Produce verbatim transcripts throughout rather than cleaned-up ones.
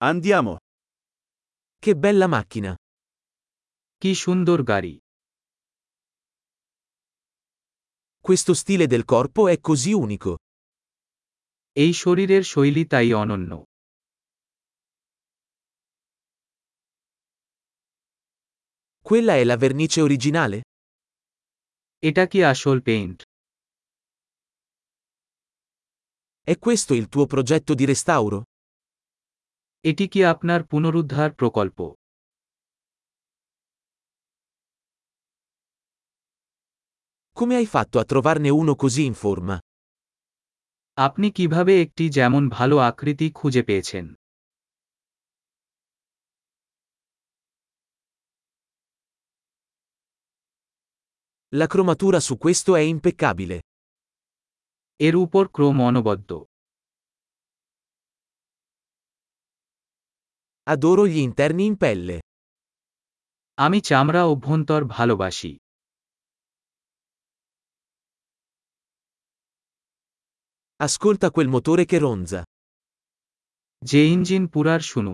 Andiamo. Che bella macchina! কি সুন্দর গাড়ি। Questo stile del corpo è così unico. এই শরীরের শৈলী তাই অনন্য। Quella è la vernice originale? এটা কি আসল পেইন্ট? È questo il tuo progetto di restauro? এটি কি আপনার পুনরুদ্ধার প্রকল্প? Come hai fatto a trovarne uno così in forma? আপনি কিভাবে একটি যেমন ভালো আকৃতি খুঁজে পেয়েছেন? La cromatura su questo è impeccabile. এর উপর ক্রোম অনবদ্য। Adoro gli interni in pelle. আমি চামড়া অভ্যন্তর ভালোবাসি। Ascolta quel motore che ronza. যে ইঞ্জিন পুরার শুনুন।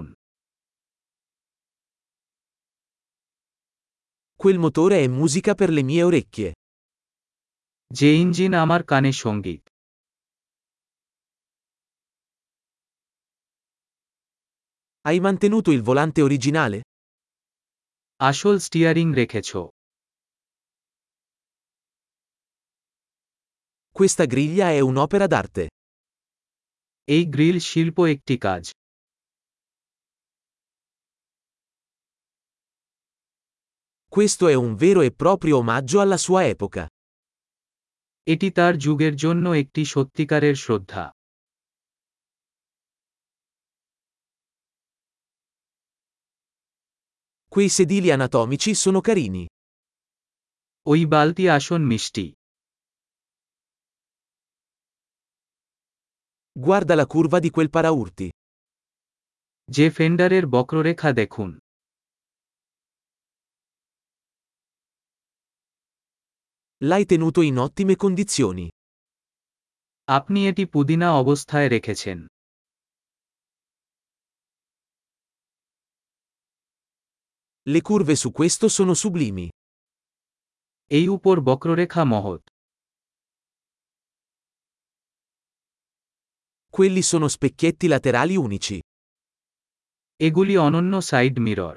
Quel motore è musica per le mie orecchie. যে ইঞ্জিন আমার কানে সঙ্গীত। Hai mantenuto il volante originale? আসল স্টিয়ারিং রেখেছ। Questa griglia è un'opera d'arte. এই গ্রিল শিল্প একটি কাজ। Questo è un vero e proprio omaggio alla sua epoca. এটি তার যুগের জন্য একটি সত্যিকারের শ্রদ্ধা। Quei sedili anatomici sono carini. ওই বালতি আসন মিষ্টি। Guarda la curva di quel paraurti. যে ফেন্ডারের বক্ররেখা দেখুন। L'hai tenuto in ottime condizioni. আপনি এটি পুদিনা অবস্থায় রেখেছেন। Le curve su questo sono sublimi. এই উপর বক্ররেখা মহৎ। Quelli sono specchietti laterali unici. এগুলি অনন্য side mirror.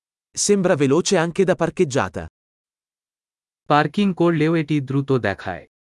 Sembra veloce anche da parcheggiata. Parking করলেও এটি দ্রুত দেখায়।